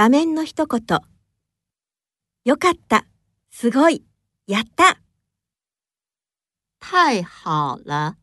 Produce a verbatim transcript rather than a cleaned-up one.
場面の一言。よかった、すごい、やった。 太好了。